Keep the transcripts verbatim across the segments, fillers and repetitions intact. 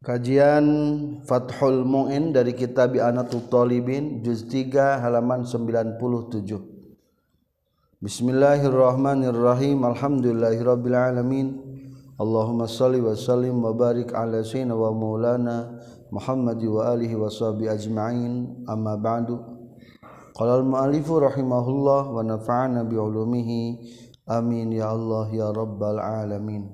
Kajian Fathul Mu'in dari kitab I'anatul Talibin juz tiga halaman sembilan puluh tujuh. Bismillahirrahmanirrahim. Alhamdulillahirabbil alamin. Allahumma shalli wa sallim wa barik ala sayyidina wa maulana Muhammad wa alihi wa sahbihi ajma'in. Amma ba'du. Qala al-mu'allifu rahimahullah wa nafa'ana bi ulumihi. Amin ya Allah ya rabbal alamin.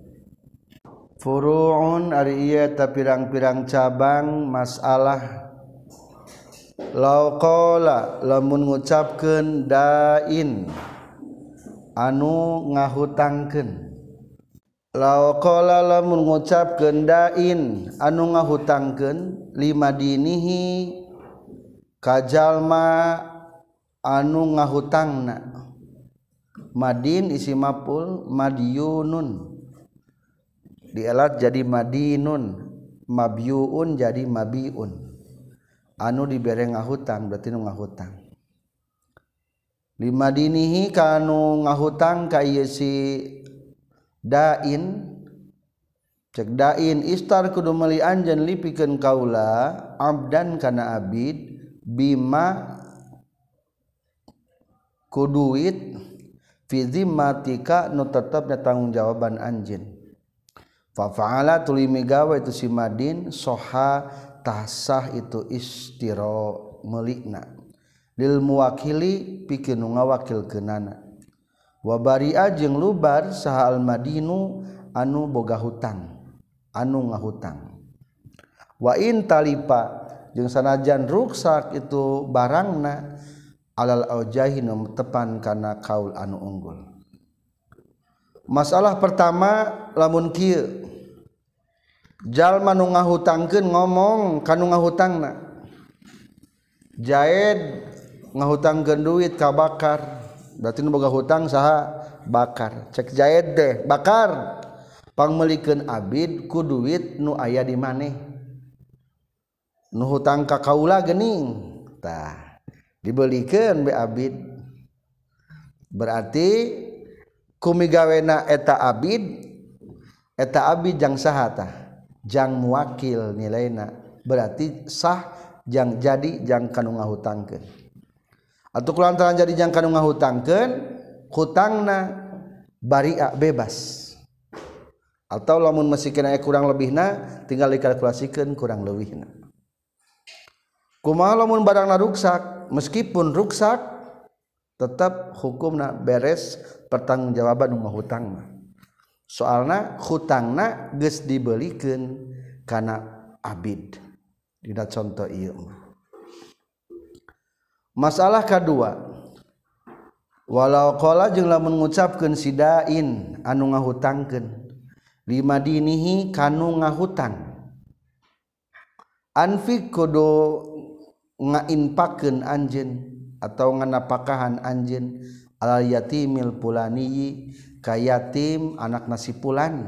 Furu'un ari ieu ta pirang-pirang cabang masalah. Law qala lamun ngucapkeun dain anu ngahutangkeun. Law qala lamun ngucapkeun dain anu ngahutangkeun lima dinihi kajalma anu ngahutangna. Madin isi maf'ul madyunun dielat jadi madinun, mabyuun jadi mabiun. Anu dibere ngahutang berarti nu ngahutang. Lima dinihi kanu ngahutang ka ieu si dain. Cek dain istar kudu meuli anjeun lipikeun kaula abdan kana abid bima ku duit fi zimmatika nu tetepna tanggung jawaban anjeun. Fa fa'ala tuluy migawe itu si madin soha tasah itu istiro melikna lil muwakili pikeun nu ngawakilkeunana wa bari'a jeung lubar saha al madinu anu boga hutang anu ngahutang wa in talipa jeung sanajan ruksak itu barangna alal aujahi nu tepan kana kaul anu unggul. Masalah pertama lamun kieu jalma nu ngahutangkeun ngomong kanu ngahutangna. Jaed ngahutangkeun duit ka Bakar, berarti nu boga hutang saha? Bakar. Cek Jaed teh, Bakar, pangmeulikeun abid ku duit nu aya di maneh. Nu hutang ka kaula geuning. Tah, dibeulikeun be abid. Berarti kumigawena eta abid eta abid jang saha tah jang muwakil nilaina berarti sah jang jadi jang kanu ngahutangkeun atuh kulantaran jadi jang kanu ngahutangkeun hutangna bari'a bebas atau lamun mesikeun aya kurang lebihna tinggal dikalkulasikeun kurang leuwihna. Kumaha lamun barangna ruksak meskipun ruksak tetap hukumna beres pertanggungjawaban nu ngahutangna. Soalna hutangna geus dibeulikeun kana abid. Dina contoh ieu. Masalah kadua. Walau qala jeung lamun ngucapkeun si dain anu ngahutangkeun lima dinihi kanu ngahutang. Anfiq kudu ngainpakeun anjeun atau nganapakahan anjeun al yatimil pulani ka yatim anak nasi pulan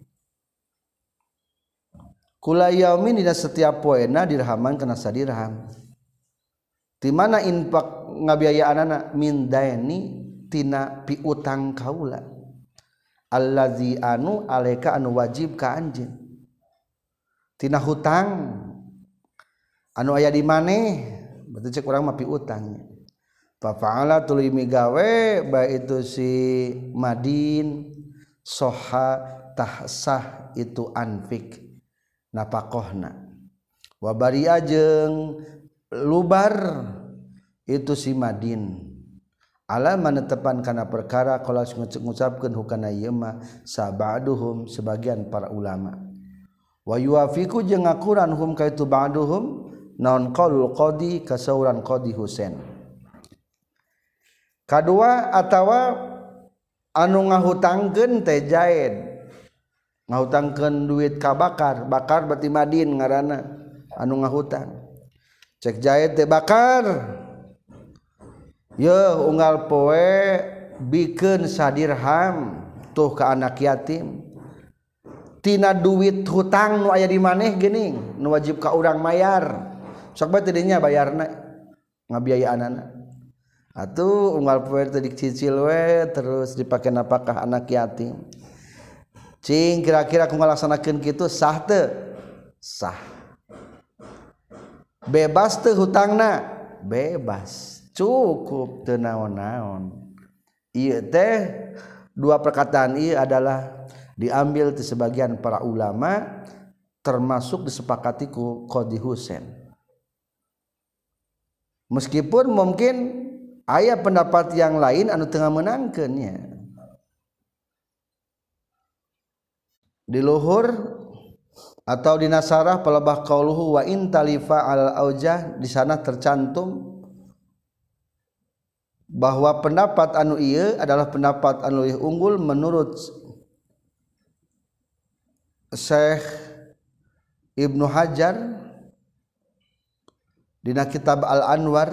kula yaumin dina setiap poena dirhaman kana sadirham di mana infak ngabiayaanana min daini tina piutang kaula allazi anu alaika anu wajib ka anjeun tina hutang anu aya di maneh berarti cek urang mah piutangnya. Fa'ala tuluy migawe bae itu si madin soha tahsah itu anfik napakohna wa bari'a jeung lubar itu si madin ala manetepan kana perkara qala ngucapkeun hukana ieu mah sabaduhum sebagian para ulama wa yuafiqu jeung ngakuran hum ka itu ba'duhum naon qaulul qadi kasauran qadi Husain. Kadua atawa anu ngahutangkeun teh Jaed ngahutangkeun duit ka Bakar. Bakar berarti madin ngaranna anu ngahutang. Cek Jaed teh Bakar yeuh unggal poe bikeun sadirham tuh ka anak yatim tina duit hutang nu aya di maneh geuning nu wajib ka urang mayar sok bae teh dinya bayarna ngabiayaanana. Atuh unggal poe teh dicicil we terus dipake napakah anak yatim. Cing kira-kira ku ngalaksanakeun kitu sah teu? sah. Bebas teu hutangna, bebas, cukup teu naon-naon. Ieu teh dua perkataan ieu adalah diambil di sebagian para ulama termasuk disepakati ku Qadhi Husain. Meskipun mungkin aya pendapat yang lain anu teu ngamenangkeun nya. Di luhur atau di nasarah palebah qauluhu wa in talifa al aujah, di sana tercantum bahwa pendapat anu ieu adalah pendapat anu leuwih unggul menurut Syekh Ibnu Hajar dina kitab Al-Anwar.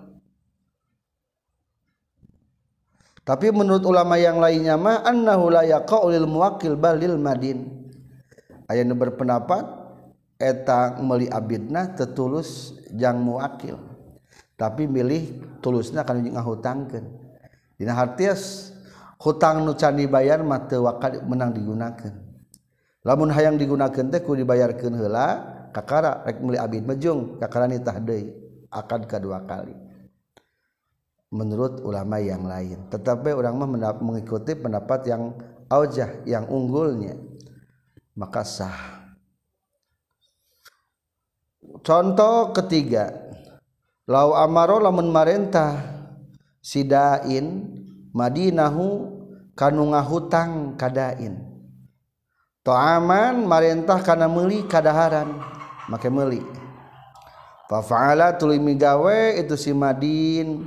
Tapi menurut ulama yang lainnya mah annahu la yaqa'u lil muwakkil bal lil madin. Aya nu berpendapat eta meuli abidna tetulus jang muwakil, tapi milih tulusna kana ngahutangkeun. Dina hartias hutang nu can dibayar mah teu wakal menang digunakeun. Lamun hayang digunakeun teh kudu dibayarkeun heula kakara rek meuli abid mejung kakara nitah deui akad kadua kali. Menurut ulama yang lain, tetapi urang mah mengikuti pendapat yang aujah yang unggulnya, maka sah. Contoh ketiga, lau amaro lamun marentah sidain madinahu kanu ngahutang kadain, ta'aman marentah kana meuli kadaharan make meuli, fa fa'ala tuluy migawe itu si madin,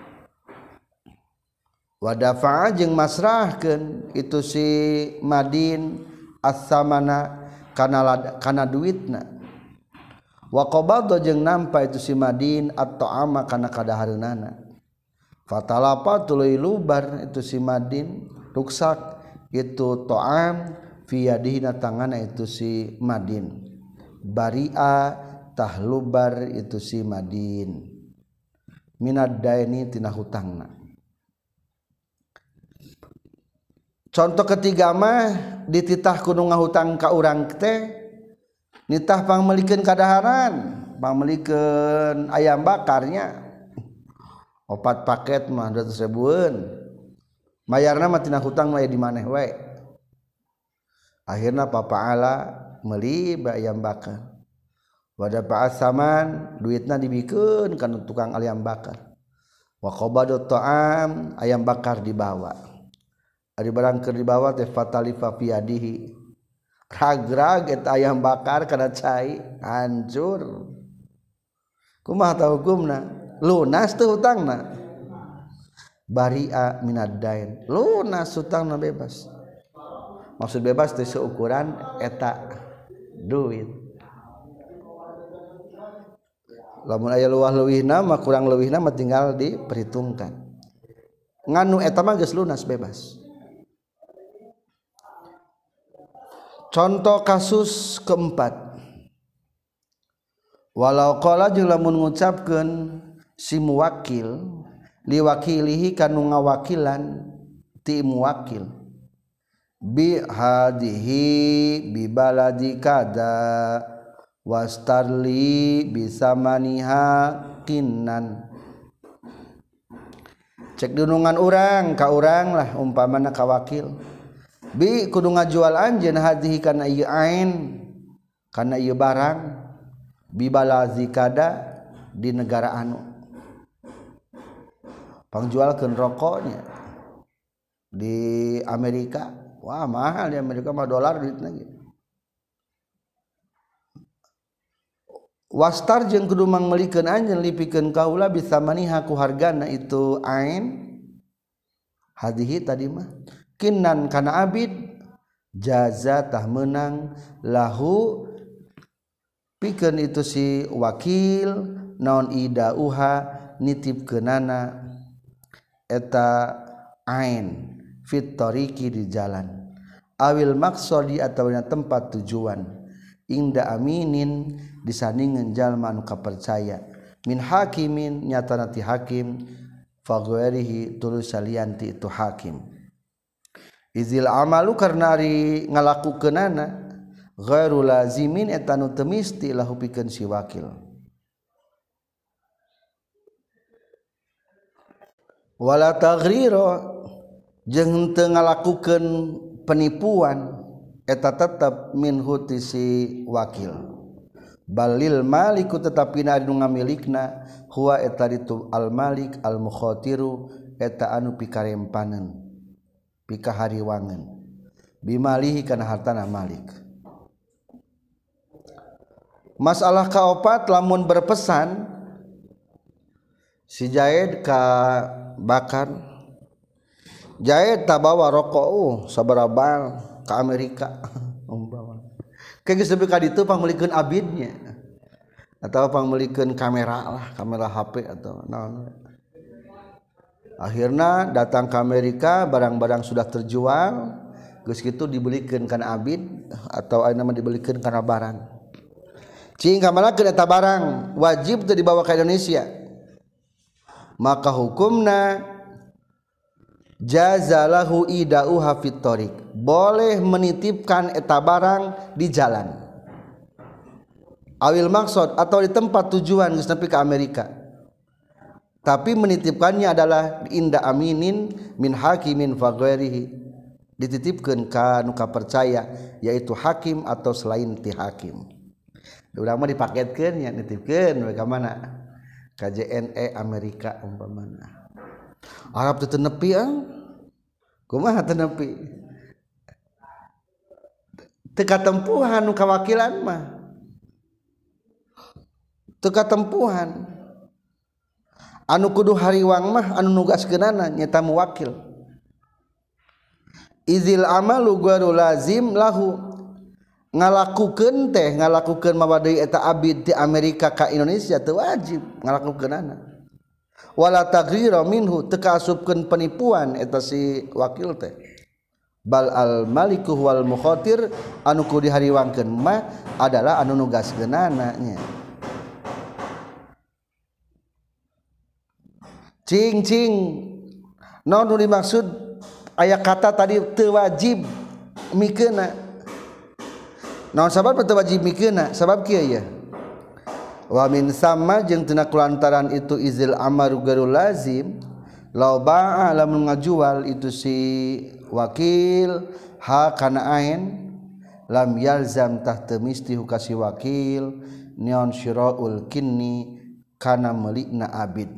wa dafa'a jeung masrahkeun itu si madin as-samana kana kana duitna, wa qabadha jeung nampa itu si madin at-ta'ama kana kadahareunana, fatalapa tuluy lubar itu si madin ruksak itu ta'am fi yadihi na tangana itu si madin, bari'a tahlubar itu si madin minad daini tina hutangna. Contoh ketiga mah dititah kudu ngahutang ka urang teh nitah pangmelikeun kadaharan, pangmelikeun ayam bakarnya opat paket mah dua ratus ribuan, mayarna mah tina hutang mah di maneh we. Akhirna papa'ala meuli ayam bakar, wada pa'asaman duitna dibikeun kana tukang ayam bakar, wa qabadut ta'am ayam bakar dibawa, ari barang keur dibawa teh fatalifa fi yadihi, ragrag eta ayam bakar kana cai hancur. Kumaha ta hukumna? Lunas teu hutangna, bari'a minad dain, lunas hutangna bebas. Maksud bebas teh seukuran eta duit. Lamun aya luah leuwihna mah kurang leuwihna mah tinggal diperhitungkan. Nganu eta mah geus lunas bebas. Contoh kasus keempat, walau qala jeung lamun ngucapkeun si muwakil liwakilihi kanu ngawakilan ti muwakil, bi hadihi bi baladi kada wastarli bisa maniha kinnan, cek dunungan urang ka urang lah umpamana ka wakil, bi kudu ngajual anjeun hadihi kana ieu ain kana ieu barang, bi baladi kada di negara anu pangjualkeun rokoknya di Amerika. Wah mahal di Amerika mah dolar duitna ge. Wastar jeung kudu mangmelikeun anjeun lipikeun kaula bisa maniha ku hargana itu ain hadihi tadi mah kinnan kana abid jaza tah meunang lahu pikeun itu si wakil naon idauha nitipkeunana eta ain fit tariqi di jalan, awil maksodi atau tempat tujuan, inda aminin disandingan jalma anu kapercaya, min hakimin nyatana ti hakim, faghairihi tulus salianti itu hakim. Izil amalu karena ari ngalakukeunana ghairu lazimin eta nu teu misti lahu pikeun si wakil. Wala taghrira jeung teu ngalakukeun penipuan eta tetep minhu ti si wakil. Balil maliku tetapi na anu ngamilikna huwa eta ditu al malik al mukhatiru eta anu pikarempaneun pikahariwangeun bimalihi kana hartana malik. Masalah kaopat lamun berpesan si Jaid ka Bakar, Jaid tabawa rokok uh sabaraha ka Amerika umpama kayak geus ka ditu pangmelikeun abidnya atau pangmelikeun kamera lah, kamera H P atau naon. Akhirna datang ke Amerika, barang-barang sudah terjual, geus kitu dibelikeun kana abid atau aya nama dibelikeun kana barang. Cing kamanakeun eta barang wajib teu dibawa ka Indonesia. Maka hukumna jazalahu idauha fit thoriq, boleh menitipkan eta barang di jalan awil maksud atau di tempat tujuan geus nepi ka Amerika, tapi menitipkannya adalah inda aminin min hakimin fa ghairihi, dititipkeun ka nu kapercaya yaitu hakim atau selain ti hakim. Urang mah dipaketkeun nya nitipkeun we ka mana ka J N E Amerika umpamana. Arab teu nepi ah kumaha teu nepi teu katempuhan nu kawakilan mah teu katempuhan anu kudu hariwang mah anu nugaskeunana nyata muwakil. Izil amalu ghairu lazim lahu, ngalakukeun teh ngalakukeun mawadai eta abid ti Amerika ka Indonesia teu wajib ngalakukeunana. Wala tagrira minhu teu kaasupkeun penipuan eta si wakil teh. Bal al maliku wal mukhatir anu kudu dihariwangkeun mah adalah anu nugaskeunana nya. Cing cing naon nu dimaksud aya kata tadi teu wajib mikeunna. Naon sabab teu wajib mikeunna? Sabab kieu ya. Wa min sama jeung tina kulantaran itu izil amaru ghairu lazim law ba'a lamun ngajual itu si wakil ha kana ain lam yalzam tahta misti hukasi wakil nion syira'ul kinni kana melikna abid.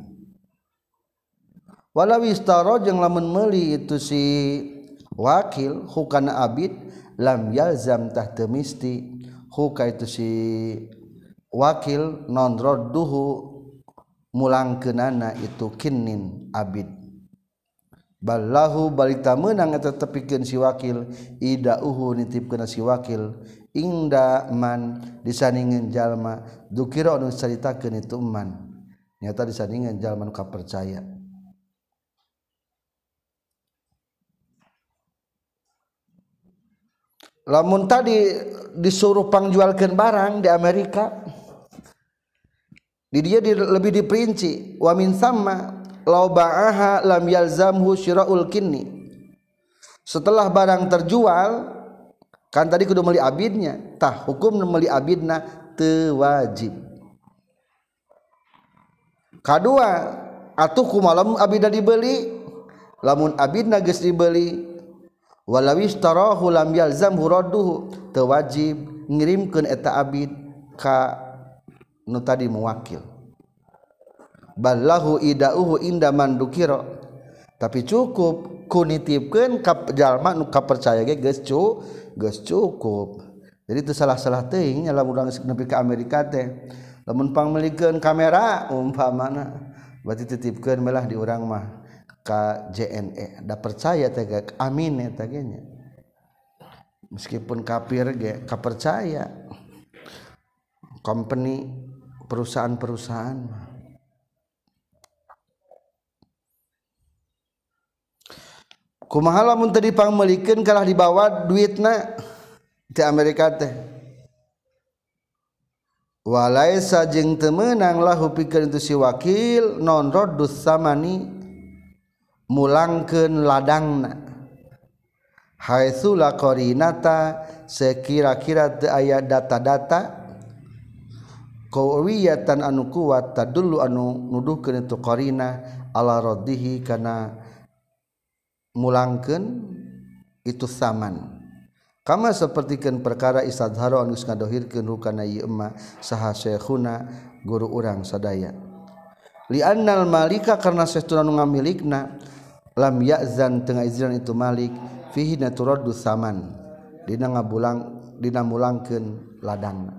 Walau istaro jeung lamun meuli itu si wakil hukana abid lam yalzam tahta misti huka itu si wakil non radduhu mulangkeunana itu kinnin abid. Ballahu balita meunang eta tepikeun si wakil idauhu nitipkeun si wakil ingda man disandingeun jalma dzukira anu caritakeun itu man nyata disandingeun jalma nu kapercaya. Lamun tadi disuruh pangjualkeun barang di Amerika, di dia di, lebih diperinci wa min sama law ba'aha lam yalzamhu syira'ul kinni. Setelah barang terjual kan tadi kudu meuli abidnya, tah hukum meuli abidna teu wajib. Kadua atuh kumaha lamun abidna dibeli, lamun abidna geus dibeli walawis tarahu lam yalzamhu radduhu teu wajib ngirimkeun eta abid ka nu tadi muwakil. Ballahu idauhu inda man dukira, tapi cukup ku nitipkeun ka jalma nu kapercaya ge geus cu geus cukup. Jadi teu salah-salah teuing nya lamun urang nepi ka Amerika teh lamun pangmelikeun kamera umpamana berarti titipkeun melah di urang mah ka J N E da percaya teh amin eta ge nya meskipun kafir ge kapercaya company perusahaan-perusahaan. Kumaha lamun teu dipangmelikeun kalah dibawa duitna di Amerika teh walaisa jeung teu meunang lahu pikeun itu si wakil non raddus samani mulangkeun ladangna haitsu la qarinata sekira-kira teu aya data-data qawiyatan anu kuat tadullu anu nuduhkeun itu qarina ala raddihi kana mulangkeun itu saman kama sapertikeun perkara istadharo anu ngadohirkeun hukana ieu emma saha syekhuna guru urang sadaya li annal malika karna saestuna nu ngamilikna lam ya'zan teu ngaizin itu malik fihi naturaddu saman dina ngabulang dina mulangkeun ladangna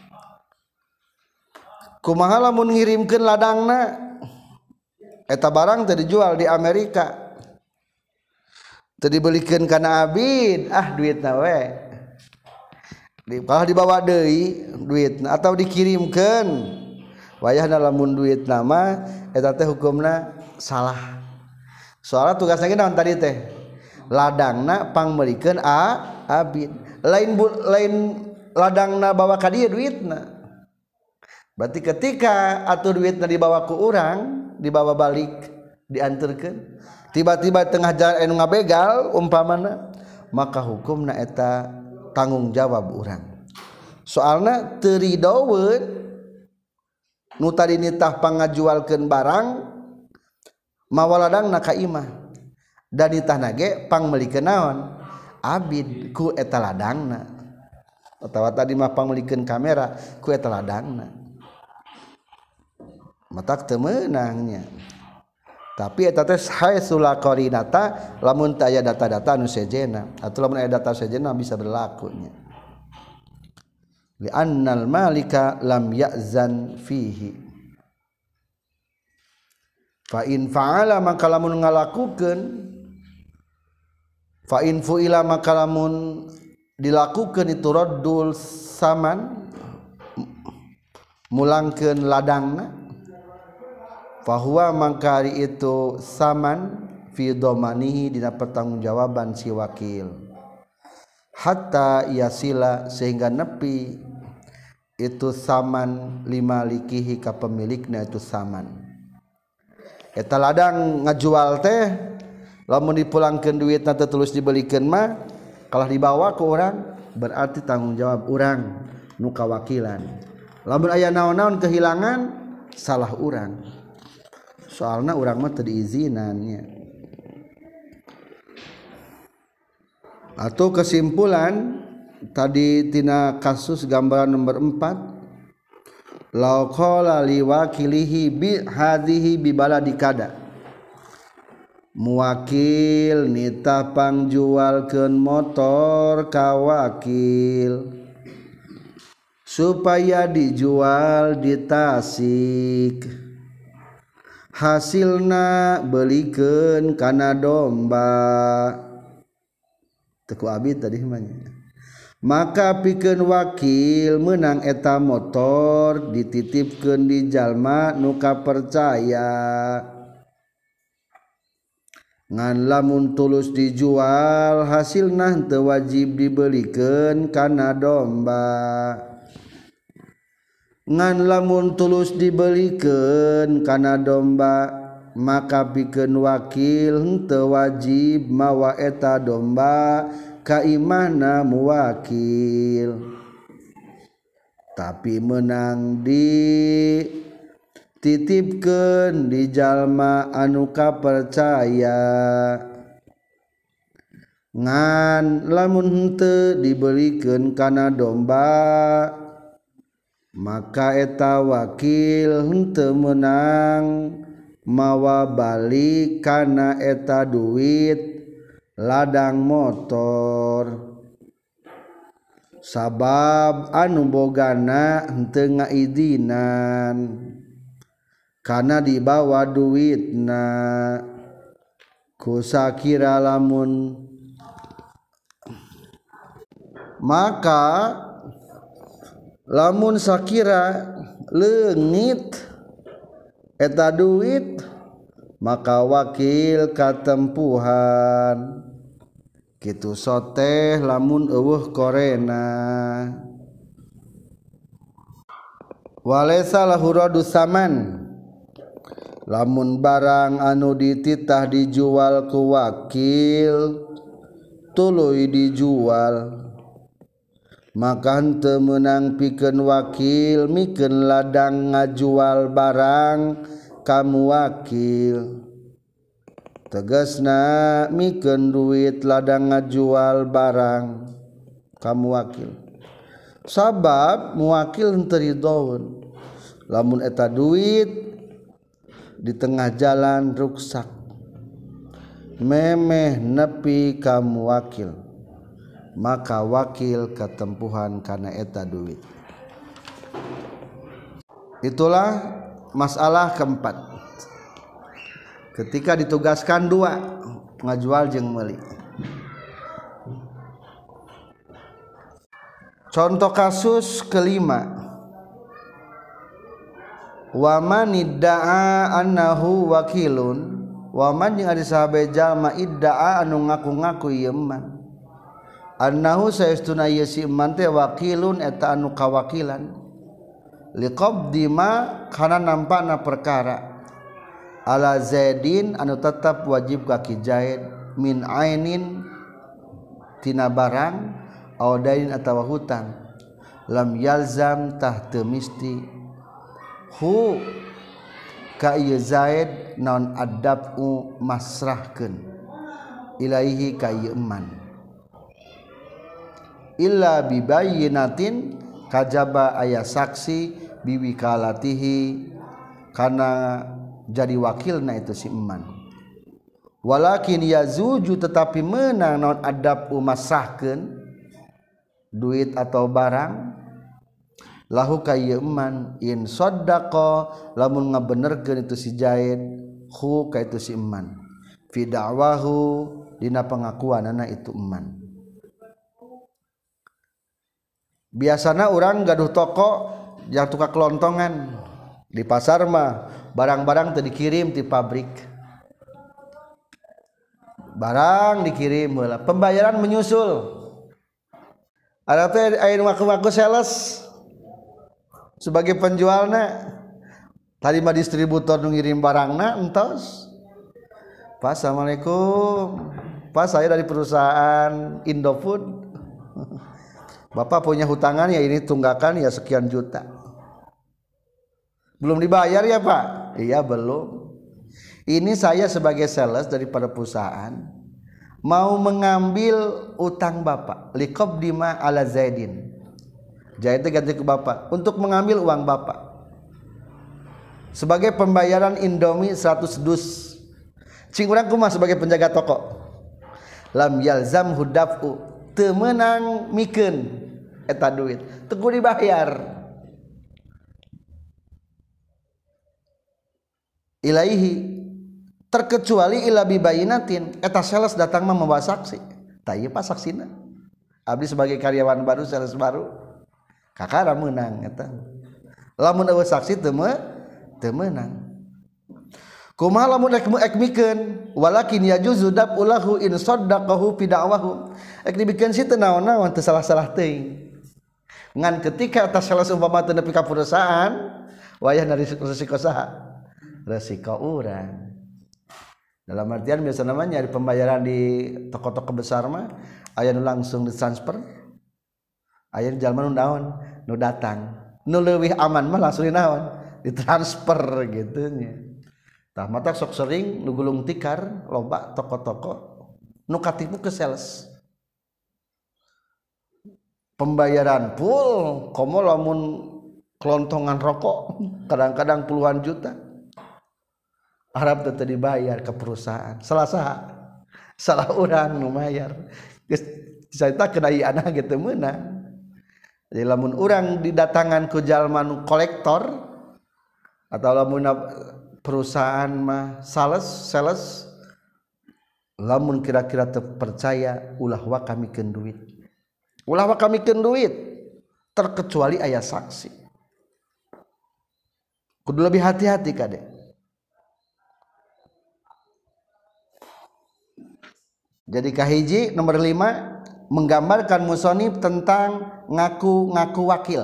kumaha lamun ngirimkeun ladangna eta barang teu dijual di Amerika teu dibelikeun kana abid ah duitna we di kalau dibawa deui duitna atau dikirimkeun wayahna lamun duitna mah eta teh hukumna salah soalna tugasna ge naon tadi teh ladangna pangmelikeun a abid lain bu, lain ladangna bawa ka dieu duitna berarti ketika atuh duitna dibawa ku urang dibawa balik dianterkeun tiba-tiba tengah jalan anu ngabegal umpamana maka hukumna eta tanggung jawab urang soalna teu ridoweun nu tadi nitah pangajualkeun barang mawa ladangna ka imah dan nitahna ge pangmelikeun naon abid ku eta ladangna atawa tadi mah pangmelikeun kamera ku eta ladangna matak teu meunangnya tapi eta teh haitsu la qarinata lamun teu aya data-data anu sejena atuh lamun aya data sejena bisa berlaku nya li annal malika lam ya'zan fihi fa in fa'ala maka lamun ngalakukeun fa in fu'ila maka lamun dilakukeun itu raddul saman mulangkeun ladangna fahuwa mangkari itu saman fi domanihi dina pertanggungjawaban si wakil hatta yasila sehingga nepi itu saman lima likihi ka pemilikna itu saman eta ladang ngajual teh lamun dipulangkeun duitna teh tulus dibelikeun mah kalah dibawa ku urang berarti tanggung jawab urang nu kawakilan lamun aya naon-naon kehilangan salah urang soalna urang mah teu diizinannya atau kesimpulan tadi tina kasus gambaran nomor empat law qala liwakilihi bi hadhihi bi baladikada muwakil nitah pangjualkeun motor ka wakil supaya dijual di Tasik hasilna belikeun kana domba teku abid tadi mah maka pikeun wakil meunang eta motor dititipkeun di jalma nu kapercaya ngan lamun tulus dijual hasilna teu wajib dibelikeun kana domba ngan lamun tulus dibelikeun kana domba maka pikeun wakil henteu wajib mawa eta domba ka imahna muwakil tapi meunang di titipkeun di jalma anu kapercaya ngan lamun henteu dibelikeun kana domba maka eta wakil henteu meunang mawa balik kana eta duit ladang motor sabab anu bogana henteu ngaidinan kana dibawa duitna ku sakira lamun maka lamun sakira leungit eta duit maka wakil katempuhan kitu soteh lamun eueuh korena walaysa lahu radu saman lamun barang anu dititah dijual ku wakil tuluy dijual maka henteu meunang pikeun wakil mikeun ladang ngajual barang kamu wakil tegasna mikeun duit ladang ngajual barang kamu wakil sabab muwakil henteu ridhoun lamun eta duit di tengah jalan ruksak memeh nepi kamu wakil maka wakil ketempuhan karena eta duit. Itulah masalah keempat ketika ditugaskan dua ngajual jeung meuli. Contoh kasus kelima, waman idda'a annahu wakilun, waman jeung ari sahabat jalma idda'a anu ngaku-ngaku ieu man annahu saestuna ieu si man teh wakilun eta anu kawakilan liqabdi ma kana nampana perkara ala zaidin anu tetap wajib ka ki Zaid min ainin tina barang aw dain atawa hutang lam yalzam tah teu misti hu ka ieu Zaid naon adabu masrahkeun ilaihi ka ieu man illa bibayyinatin kajaba aya saksi biwikalatihi kana jadi wakilna itu si eman walakin yazuju tetapi meunang naon adab umasahkeun duit atau barang lahu ka ieu eman in saddaqa lamun ngabenerkeun itu si Zaid hu ka itu si eman fi da'wahu dina pengakuanana itu eman. Biasana orang gaduh toko yang tukang kelontongan di pasar mah barang-barang teu dikirim ti pabrik barang dikirim heula pembayaran menyusul ada teh aya ngaku-ngaku sales sebagai penjualna tadi mah distributor nu ngirim barangna entos Pak assalamualaikum Pak saya dari perusahaan Indofood Bapak punya hutangan ya ini tunggakan ya sekian juta. Belum dibayar ya Pak? Iya belum. Ini saya sebagai sales daripada perusahaan mau mengambil utang Bapak. Liqabdi ma ala Zaidin. Zaid ganti ke Bapak untuk mengambil uang Bapak. Sebagai pembayaran Indomie seratus dus. Cing urang kumaha sebagai penjaga toko. Lam yalzam hudafu teu meunang mikeun eta duit teguh dibayar ilaihi terkecuali ila bibayinatin eta sales datang mah membawa saksi tah ieu pas saksina abdi sebagai karyawan baru sales baru kakara meunang eta lamun eueuh saksi teu teu meunang kumaha lamun ek mikeun walakin yajuzu dabulahu in saddaqahu fi da'wahu ek dibikeun si teu naon-naon teu salah-salah teuing ngan ketika atas sales umpama teu nepi ka perusahaan wayah dari resiko saha resiko urang dalam artian biasa namanya di pembayaran di toko-toko besar mah aya nu langsung ditransfer aya jalma nu naon nu datang nu leuwih aman mah langsung dinaon ditransfer gitu nya tah mata sok sering nu gulung tikar loba toko-toko nu katipu ke sales pembayaran full komo lamun kelontongan rokok kadang-kadang puluhan juta harap teu dibayar ke perusahaan salah saha salah urang nu mayar geus carita kedayiana ge teu meunang jadi lamun urang didatangan ku jalma nu kolektor atau lamun perusahaan mah sales sales lamun kira-kira teu percaya ulah wa kamikeun duit ulah wa kamikeun duit terkecuali aya saksi kudu lebih hati-hati kade jadi kahiji nomor lima menggambarkan musonib tentang ngaku-ngaku wakil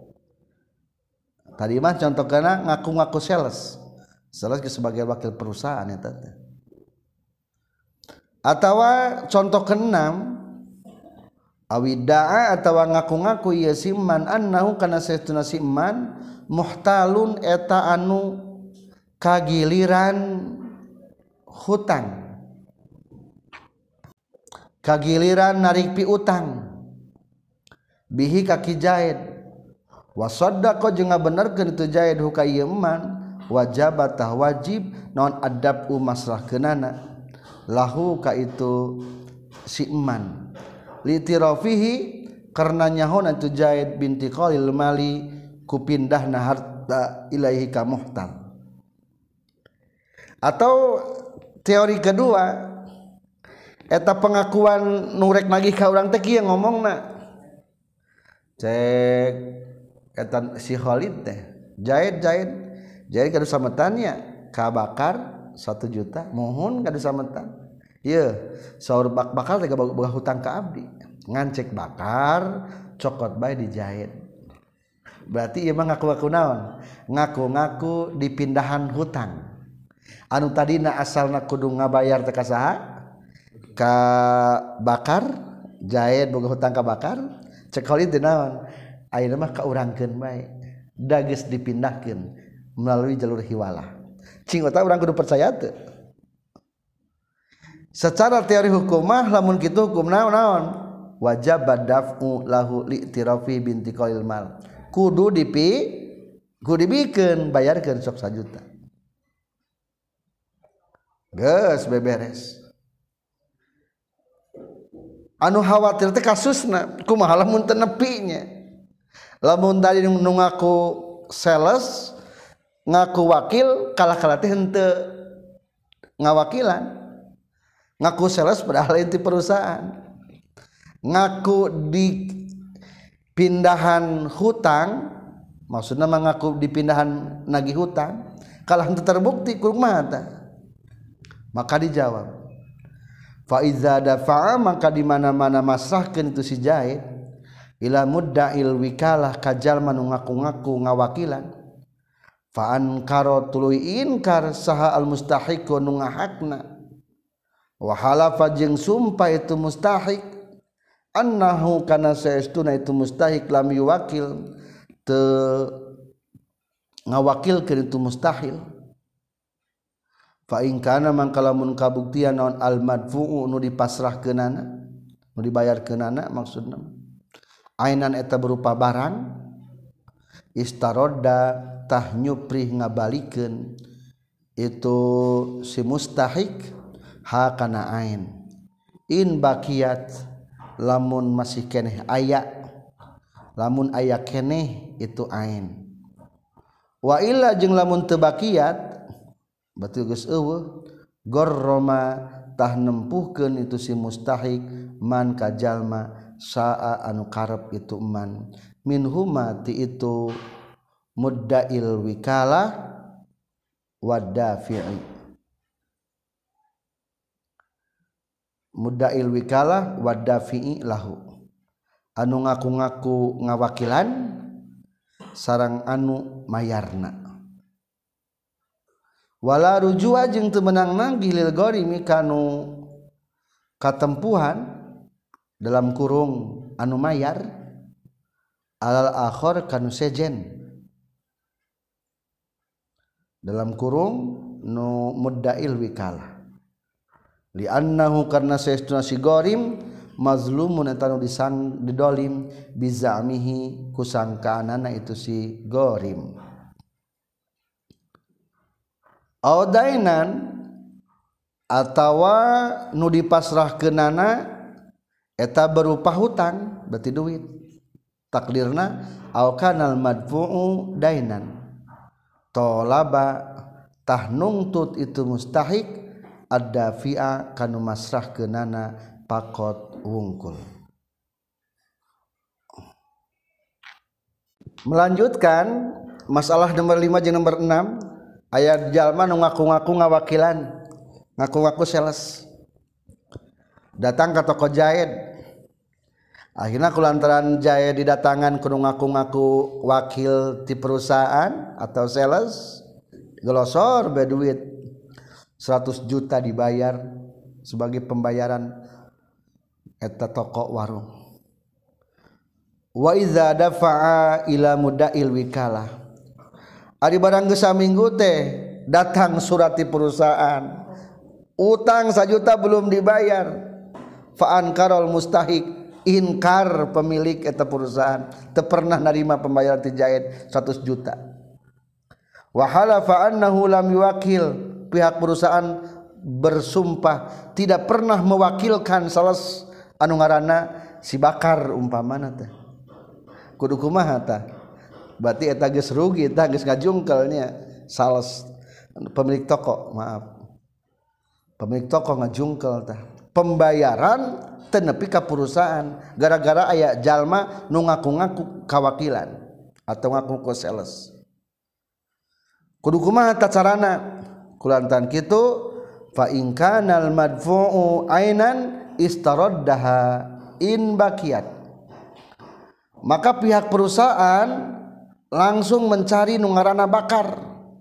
tadi mah contoh kana ngaku-ngaku sales sales sebagai wakil perusahaan eta teh atawa contoh keenam awidaa atawa ngaku-ngaku ieu siman annahu kana saestuna siman muhtalun eta anu kagiliran hutang kagiliran narik piutang bihi kaki Zaid wa saddaqa jeung ngabenerkeun itu Zaid ka ieu man wajib tah wajib naon adab masrahkeunana lahu ka itu si eman litirafihi karena nyahon itu Zaid binti Qalil mali ku pindahna harta ilaihi ka muhtal. Atau teori kedua eta pengakuan nurek nagih ka urang teh kieu ngomongna cek eta si Khalid teh Zaid Zaid Zaid kadu sametannya ka bakar satu juta mohon kadu sametan ieu saur bak bakar teh boga hutang ka abdi ngancek bakar cokot bae di Zaid berarti ieu mah ngaku-ngaku naon ngaku-ngaku dipindahan hutang anu tadina asalna kudu ngabayar teh ka saha ka bakar Zaid boga hutang ka bakar cek Khalid teh naon ayeuna mah kaurangkeun bae da geus dipindahkeun melalui jalur hiwalah cing eta urang kudu percaya teu secara teori hukum mah lamun kitu hukum naon wajib daf'u lahu li'tirafi binti qalil mal kudu dipi kudu dibikeun bayarkeun sok sajuta geus beberes anu khawatir teh kasusna kumaha lamun teu nepi nya lamun tadi nu ngaku sales ngaku wakil kalah-kalah teh henteu ngawakilan ngaku sales padahal inti perusahaan ngaku di pindahan hutang maksudna mengaku di pindahan nagih hutang kalah henteu terbukti kumaha tah maka dijawab fa iza dafa'a maka di mana-mana masrahkeun itu si Zaid ila mudda'il wikalah ka jalma nu ngaku-ngaku ngawakilan fa ankara tuluy inkar saha al mustahiq nu ngahakna wa halafa jeung sumpah itu mustahik annahu kana saestuna itu mustahik lam yuwakil teu ngawakilkeun itu mustahil fa in kana mangka lamun kabuktian naon al madfu'u nu dipasrahkeunana nu dibayarkeunana maksudna ainan eta berupa barang istarodda tah nyuprih ngabalikeun itu si mustahik ha kana ain in bakiyat lamun masih keneh aya lamun aya keneh itu ain wa illa jeung lamun teu bakiyat berarti geus eueuh gorroma tah nempuhkeun itu si mustahik man ka jalma saa anu karep itu man minhuma ti itu mudda'il wikalah wadafi'i mudda'il wikalah wadafi'i lahu anu ngaku-ngaku ngawakilan sareng anu mayarna wala rujua jeung teu meunang nagih lil gharimi kanu katempuhan dalam kurung anu mayar alal akhir kanu sejen dalam kurung nu mudda'il wikalah li annahu karna saestuna si gharim mazlumun eta nu disang didolim bizamihi kusangkaanana itu si gharim audainan atawa nu dipasrahkeunana eta berupa hutang berarti duit takdirna au kanal madfu'u dainan tolaba tah nungtut itu mustahik ad-dafi'a kanu masrahkeunana pakot wungkul. Melanjutkan masalah nomor lima jeung nomor enam aya jalma nu ngaku-ngaku ngawakilan ngaku-ngaku sales datang ka toko Zaid akhirna kulantaran Zaid didatangan kudu ngaku-ngaku wakil ti perusahaan atau sales glosor bae duit seratus juta dibayar sebagai pembayaran eta toko warung wa iza dafa'a ila mudail wikalah ari barang geus saminggu teh datang surat di perusahaan utang sajuta belum dibayar fa ankarul mustahik inkar pemilik eta perusahaan teu pernah narima pembayaran ti Zaid seratus juta wa halafa annahu lam yuwakil pihak perusahaan bersumpah tidak pernah mewakilkan sales anu ngaranna si Bakar umpamana teh kudu kumaha tah berarti eta geus rugi tah geus ngajungkelnya sales pemilik toko maaf pemilik toko ngajungkel tah pembayaran teu nepi ka perusahaan gara-gara aya jalma nu ngaku-ngaku kawakilan atau ngaku ku sales kudu kumaha tah carana kulantaran kitu fa in kanal madfu'u ainan istaraddaha in baqiyat maka pihak perusahaan langsung mencari nu ngaranna Bakar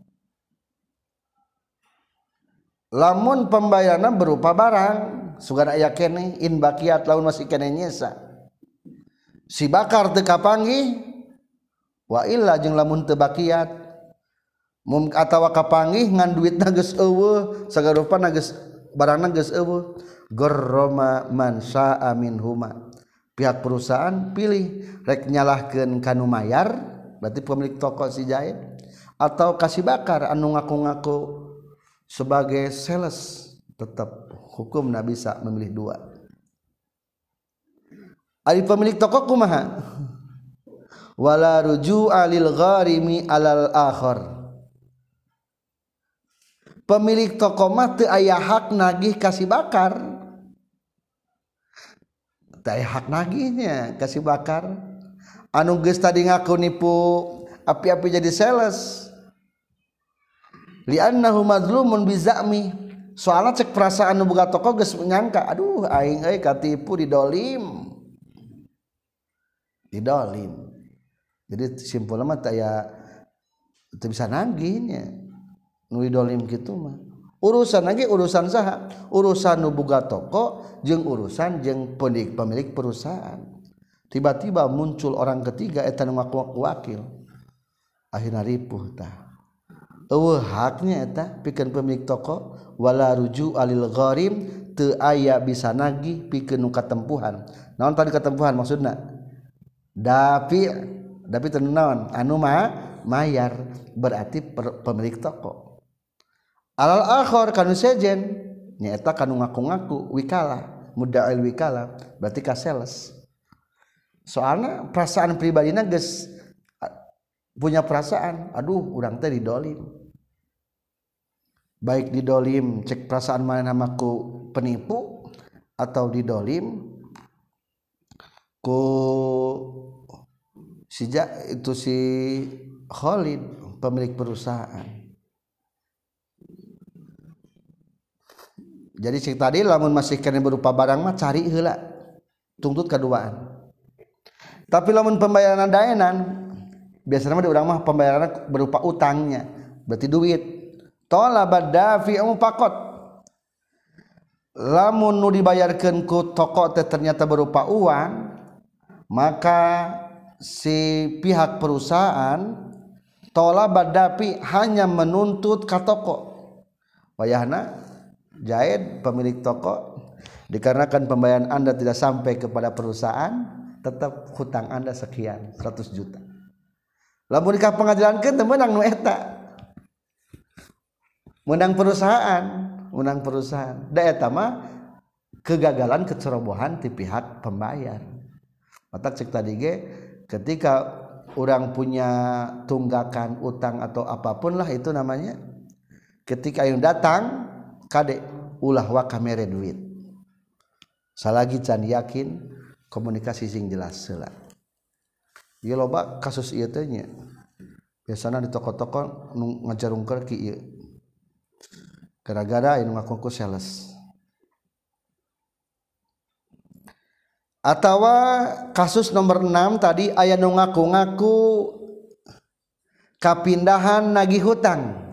lamun pembayaranna berupa barang sugan aya keneh in baqiyat lamun masih keneh nyesa si Bakar teu kapanggih wa illa jeung lamun teu baqiyat mum atawa kapanggih ngan duitna geus eueuh sagarupana geus barangna geus eueuh garrama man syaa minhuma pihak perusahaan pilih rek nyalahkeun kanu mayar berarti pemilik toko si Zaid atau kasih Bakar anu ngaku-ngaku sebagai sales tetap hukumna bisa memilih dua ari pemilik toko kumaha wala ruju'a lil gharimi alal akhar pemilik toko mah teu aya hak nagih kasih Bakar teu aya hak nagihnya kasih Bakar anu geus tadi ngaku nipu api-api jadi sales li'annahu mazlumun bizami soalna cek perasaan nu boga toko geus nyangka aduh aing euy katipu didolim didolim jadi simpulna mah teu aya teu bisa nagihnya nu didolim kitu mah urusan lagi urusan saha urusan nu boga toko jeung urusan jeung pemilik perusahaan tiba-tiba muncul orang ketiga eta nu ngaku wakil akhirna ripuh tah eueuh haknya eta pikeun pemilik toko wala ruju alil gharim teu aya bisa nagih pikeun nu katempuhan naon tadi katempuhan maksudna dapi dapi teu naon anu mah mayar berarti per, pemilik toko alal akhir kanu sejen nyaeta kanu ngaku-ngaku wikalah muda'il wikalah berarti ka sales soalna perasaan pribadina geus punya perasaan aduh urang teh didolim baik didolim cek perasaan mana namaku penipu atau didolim ku si itu si Khalid pemilik perusahaan. Jadi cik tadi lamun masih kena berupa barang mah cari heula tuntut kaduaan. Tapi lamun pembayaran daenan biasanya mah di urang mah pembayaran berupa utangnya berarti duit. Talabad dafi'u faqat. Lamun nu dibayarkeun ku toko teh ternyata berupa uang, maka si pihak perusahaan talabad dafi hanya menuntut ka toko. Wayahna Zaid pemilik toko, dikarenakan pembayaran Anda tidak sampai kepada perusahaan, tetap hutang Anda sekian seratus juta. Lamun ka pengadilan keun teu meunang nu eta. Menang perusahaan, menang perusahaan. Da eta mah kegagalan kecerobohan ti pihak pembayar. Mata cek tadi ge ketika orang punya tunggakan utang atau apapun lah itu namanya, ketika yang datang kade ulah wa kamere duit. Salagi can yakin komunikasi sing jelas heula. Ieu loba kasus ieu teh nya. Biasana di toko-toko nu ngajarungkeun ki ieu. Gara-gara anu ngaku sales. Atawa kasus nomor enam tadi aya nu ngaku-ngaku kapindahan nagih hutang.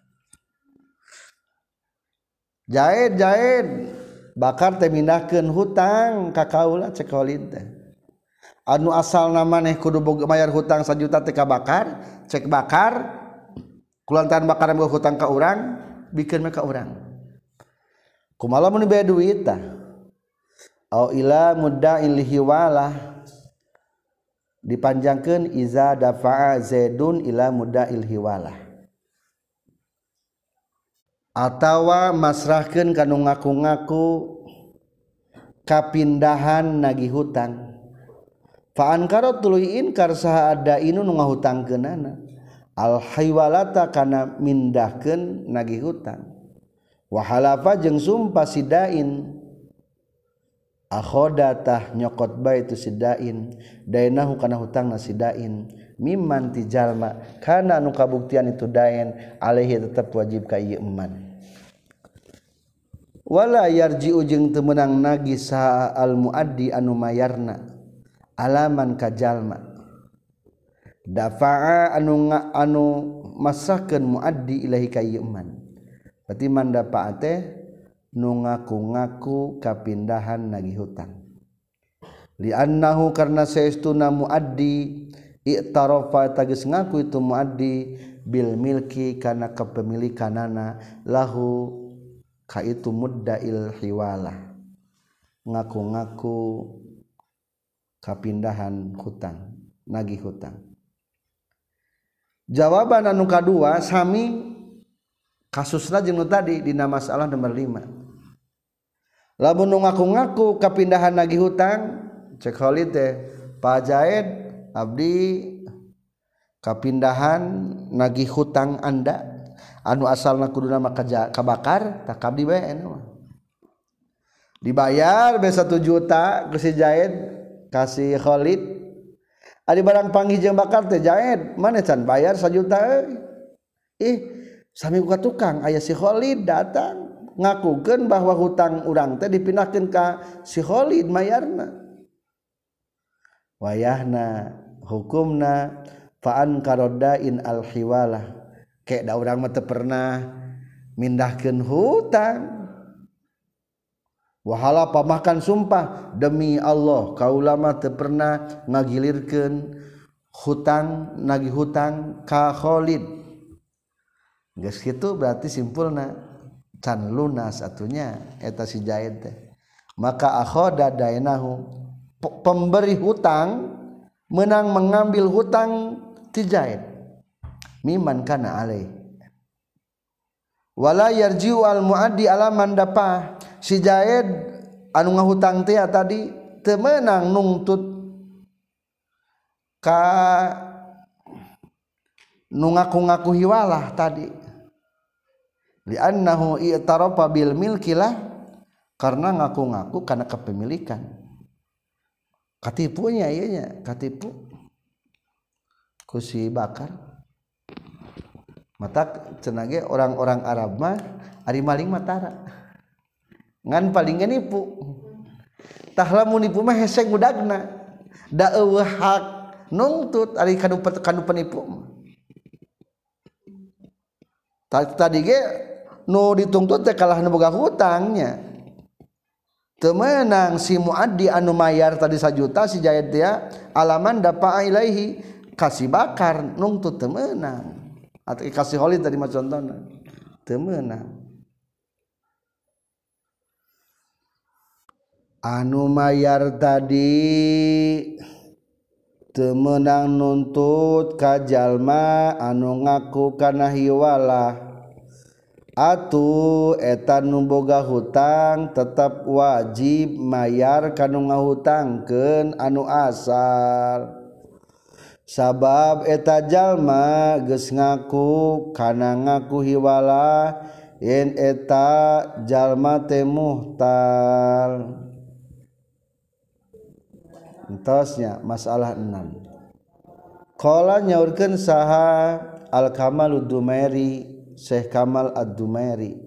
Zaid Zaid bakar teh mindahkeun hutang ka kaula cek Khalid teh. anu asal maneh kudu boga mayar hutang sajuta teh ka bakar cek bakar kulantaran bakaran boga hutang ka urang bikin mah ka urang kumaha mun bea duit tah au ila mudda'il hiwalah dipanjangkeun iza dafa'a zaidun ila mudda'il hiwalah atawa masrahkeun kanu ngaku-ngaku kapindahan nagih hutang fa ankara tuluy inkar saha ada inu nu ngahutangkeunana al hiwalata kana mindahkeun nagih hutang wa halafa jeung sumpah sidain akhodatah nyokot bae itu sidain dainahu kana hutangna sidain mimman tijalma kana anu kabuktian itu dain alaihi tetep wajib ka ieu eman wala yarji'u jeung teu meunang nagih saha al muaddi anu mayarna alaman ka jalma dafa'a anu anu masahkeun muaddi ilahi ka ieu eman berarti man dafa'a teh nu ngaku-ngaku kapindahan nagih hutang li annahu karna saestuna muaddi i'tarafa tagis ngaku itu muaddi bil milki kana kepemilikanana lahu ka itu mudda'il hiwalah ngaku-ngaku kapindahan hutang nagih hutang jawaban anu kadua sami kasusna jeung nu tadi dina masalah nomor lima lamun nu ngaku-ngaku kapindahan nagih hutang cek Khalid teh Pak Jaid abdi kapindahan nagih hutang anda anu asalna kuduna mah kabakar tak abdi bae anu dibayar be satu juta ku si Jaid kasih Khalid ari barang panggih jeung bakar teh Jaid mana can bayar satu juta euy ih sami ka tukang aya si Khalid datang ngakukeun bahwa hutang urang teh dipindahkeun ka si Khalid mayarna wayahna hukumna fa an karodain al hiwalah ke da urang mah teu pernah mindahkeun hutang wahala pamahkan sumpah demi Allah kaula mah teu pernah ngagilirkeun hutang nagih hutang ka Khalid geus kitu berarti simpulna can lunas atunya eta si Jaid teh maka akhoda dainahu pemberi hutang menang mengambil hutang ti Jaid miman kana alai wala yarji'u al muaddi ala man dapa si Jaid anu ngahutang teh tadi teu meunang nungtut ka nu ngaku-ngaku hiwalah tadi li annahu i'tarafa bil milkilah karena ngaku-ngaku kana kepemilikan katipunya ieu nya katipu ku si bakar mata cenah ge orang-orang Arab mah ari maling matara ngan paling nipu tah lamun nipu mah hesek budagna da eueuh hak nungtut ari kanu kanu penipu tadi ge nu dituntut teh kalah nu boga hutangnya teu meunang si muaddi anu mayar tadi sajuta si Jaid teh alaman dapa'a ilaihi kasih bakar nungtut teu meunang atau kasih Khalid tadi mah contohna teu meunang anu mayar tadi teu meunang nuntut ka jalma anu ngaku kana hiwalah atuh eta nu boga hutang tetap wajib mayar kanu ngahutangkeun anu asal sabab eta jalma geus ngaku kana ngaku hiwalah yen eta jalma teh muhtal entosnya masalah enam qala nyaurkeun saha al kamal ad-dumairi Syekh Kamal ad-Dumairi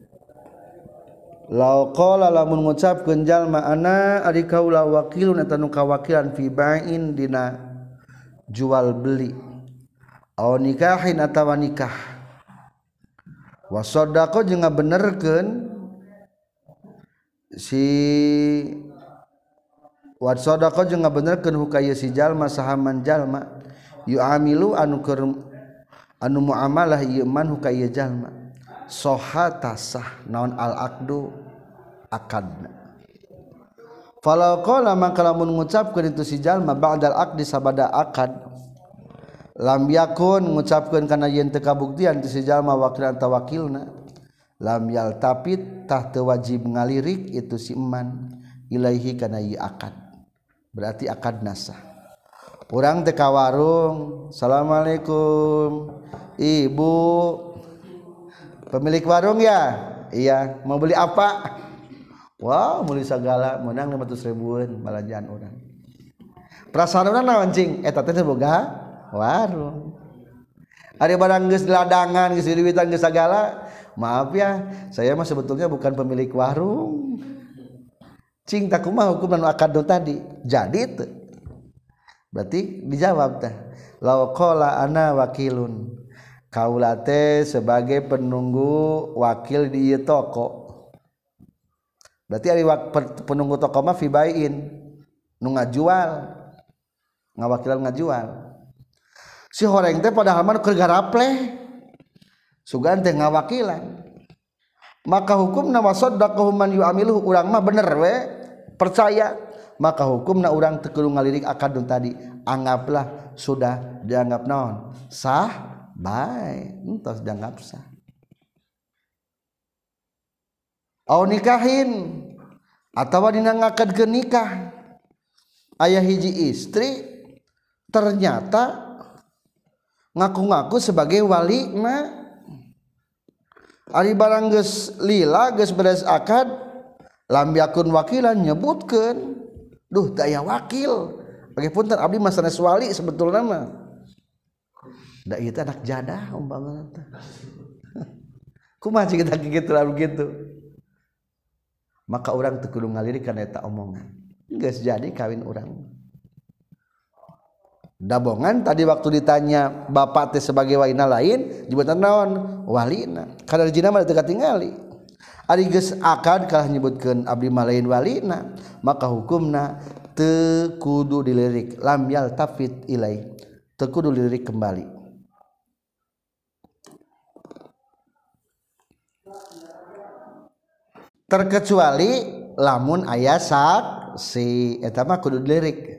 law qala lamun ngucapkeun jalma ana ari kaula wakilun eta nu kawakilan fi ba'in dina jual beli aw nikahin atawa nikah wa shadaqah jeung ngabenerkeun si wa sadaqa jeung ngabenerkeun hukaya si jalma sahaman jalma yu'amilu anu keur anu muamalah ieu man hukaya jalma sohata sah naon al aqdu akadna falau qala maka lamun ngucapkeun itu si jalma ba'dal aqdi sabada akad lam yakun ngucapkeun kana yen teu kabuktian ti si jalma wakilan tawakilna lam yaltapit tah teu wajib ngalirik itu si eman ilaihi kana ieu akad berarti akad nasah urang teh ka warung assalamualaikum ibu pemilik warung ya iya mau beli apa wah wow, beli segala menang lima ratus ribuan balanjaan orang perasaan orang naon cing eta teh boga warung ada barang geus ladangan geus diwitan geus sagala maaf ya saya mah sebetulnya bukan pemilik warung cing tak kumaha hukum anu akad tadi jadi teu berarti dijawab teh law qala ana wakilun kaula teh sebagai penunggu wakil di ieu toko berarti ari penunggu toko mah fi baiin nu ngajual ngawakilan ngajual si horeng teh padahal mah keur garapleh sugan teh ngawakilan maka hukumna wasaddaqahu man yu'amiluhu urang mah bener we percaya maka hukumna urang teu kudu ngalirik akad tadi anggaplah sudah dianggap naon sah bae entos dianggap sah au nikahin atawa dina ngakadkeun nikah aya hiji istri ternyata ngaku-ngaku sebagai walina ari barang geus lila geus beres akad lam yakun wakilan nyebutkeun duh teu aya wakil bagi punten abdi mah sanes wali sebetulna mah da ieu teh anak jadah umpamana teh kumaha cing kita kitu lalu kitu maka orang teu kudu ngalirik kana eta omongan geus jadi kawin urang dabongan tadi waktu ditanya bapak teh sebagai walina lain nyebutan naon walina kana jina mah teu katingali ari geus akad kalah nyebutkeun abdi mah lain walina maka hukumna teu kudu dilirik lam yaltafit ilai teu kudu dilirik kembali terkecuali lamun aya saksi eta mah kudu dilirik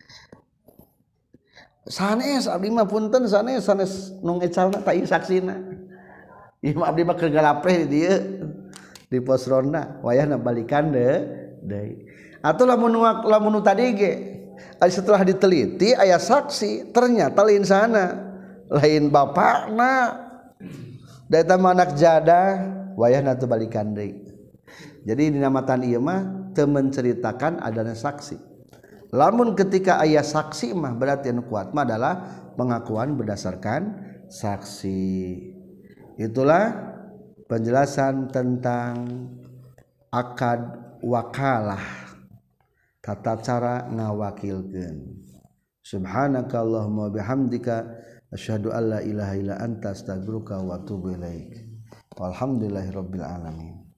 sanes abdi mah punten sanes sanes nu ngecalna ta ieu saksina ieu mah abdi mah keur galapreh di dieu di pos ronda wayahna balikan deh deui atuh lamun lamun tadi ge setelah diteliti aya saksi ternyata lain sana lain bapakna da eta mah anak jadah wayahna teu balikan deui jadi dinamatan ieu mah teu menceritakan adanya saksi lamun ketika aya saksi mah berarti anu kuat mah adalah pengakuan berdasarkan saksi itulah penjelasan tentang akad wakalah tata cara ngawakilkeun subhanakallahumma bihamdika asyhadu alla ilaha illa anta astaghfiruka wa atubu ilaik walhamdulillahirabbil alamin.